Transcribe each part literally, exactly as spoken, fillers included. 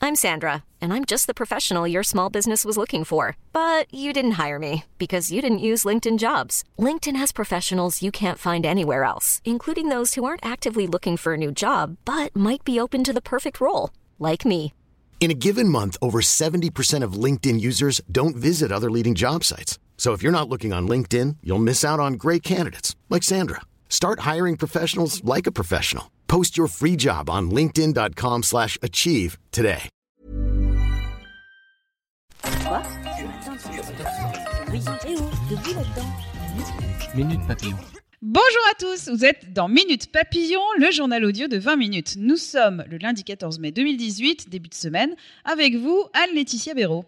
I'm Sandra, and I'm just the professional your small business was looking for. But you didn't hire me because you didn't use LinkedIn Jobs. LinkedIn has professionals you can't find anywhere else, including those who aren't actively looking for a new job, but might be open to the perfect role, like me. In a given month, over seventy percent of LinkedIn users don't visit other leading job sites. So if you're not looking on LinkedIn, you'll miss out on great candidates like Sandra. Start hiring professionals like a professional. Post your free job on linkedin.com slash achieve today. Quoi? Minute Papillon. Bonjour à tous, vous êtes dans Minute Papillon, le journal audio de vingt minutes. Nous sommes le lundi quatorze mai deux mille dix-huit, début de semaine, avec vous, Anne-Laetitia Béraud.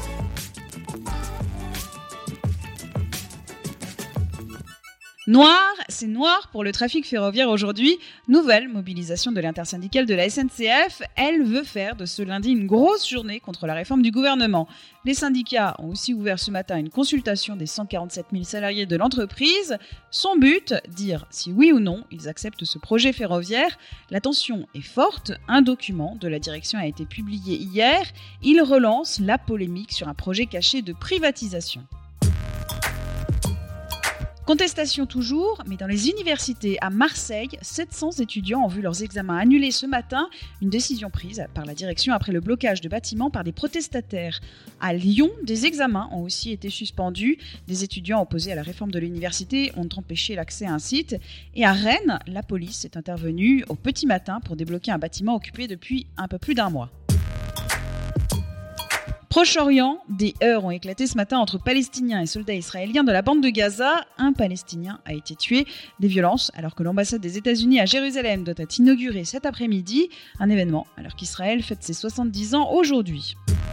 Noir, c'est noir pour le trafic ferroviaire aujourd'hui. Nouvelle mobilisation de l'intersyndicale de la S N C F. Elle veut faire de ce lundi une grosse journée contre la réforme du gouvernement. Les syndicats ont aussi ouvert ce matin une consultation des cent quarante-sept mille salariés de l'entreprise. Son but, dire si oui ou non ils acceptent ce projet ferroviaire. La tension est forte. Un document de la direction a été publié hier. Il relance la polémique sur un projet caché de privatisation. Contestation toujours, mais dans les universités à Marseille, sept cents étudiants ont vu leurs examens annulés ce matin, une décision prise par la direction après le blocage de bâtiments par des protestataires. À Lyon, des examens ont aussi été suspendus. Des étudiants opposés à la réforme de l'université ont empêché l'accès à un site. Et à Rennes, la police est intervenue au petit matin pour débloquer un bâtiment occupé depuis un peu plus d'un mois. Proche-Orient, des heurts ont éclaté ce matin entre Palestiniens et soldats israéliens de la bande de Gaza. Un Palestinien a été tué. Des violences alors que l'ambassade des États-Unis à Jérusalem doit être inaugurée cet après-midi. Un événement alors qu'Israël fête ses soixante-dix ans aujourd'hui.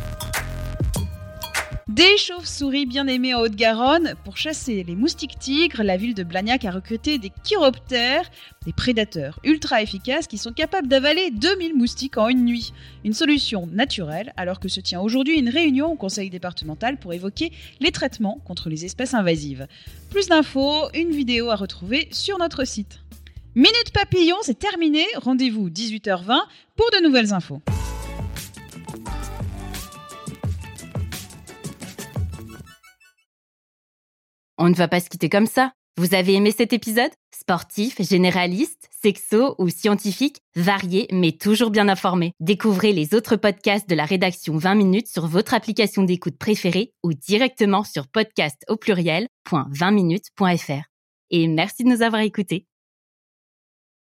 Des chauves-souris bien aimées en Haute-Garonne. Pour chasser les moustiques tigres, la ville de Blagnac a recruté des chiroptères, des prédateurs ultra efficaces qui sont capables d'avaler deux mille moustiques en une nuit. Une solution naturelle alors que se tient aujourd'hui une réunion au conseil départemental pour évoquer les traitements contre les espèces invasives. Plus d'infos, une vidéo à retrouver sur notre site. Minute Papillon, c'est terminé. Rendez-vous dix-huit heures vingt pour de nouvelles infos. On ne va pas se quitter comme ça. Vous avez aimé cet épisode ? Sportif, généraliste, sexo ou scientifique, varié mais toujours bien informé. Découvrez les autres podcasts de la rédaction vingt minutes sur votre application d'écoute préférée ou directement sur podcast au pluriel point vingt minutes point f r. Et merci de nous avoir écoutés.